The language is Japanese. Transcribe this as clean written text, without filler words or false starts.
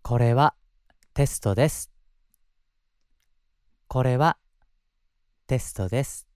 これはテストです。これはテストです。